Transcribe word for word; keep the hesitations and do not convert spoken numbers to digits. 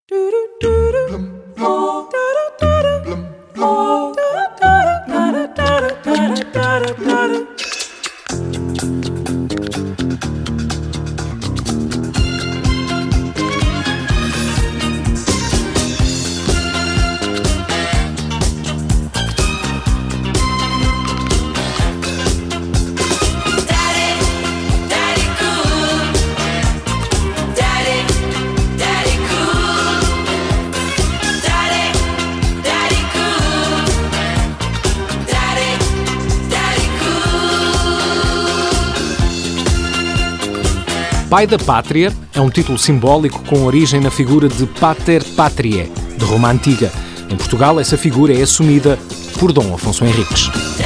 Pai da Pátria é um título simbólico com origem na figura de Pater Patriae, de Roma Antiga. Em Portugal, essa figura é assumida por Dom Afonso Henriques.